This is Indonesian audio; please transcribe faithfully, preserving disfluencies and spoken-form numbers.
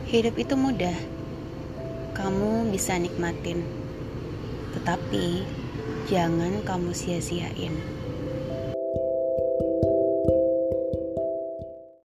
Hidup itu mudah, kamu bisa nikmatin, tetapi jangan kamu sia-siain.